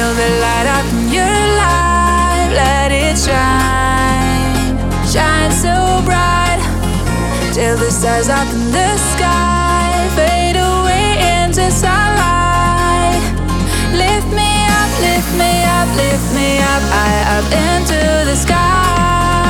Feel the light up in your life, let it shine. Shine so bright till the stars up in the sky fade away into sunlight. Lift me up, lift me up, lift me up, high up into the sky.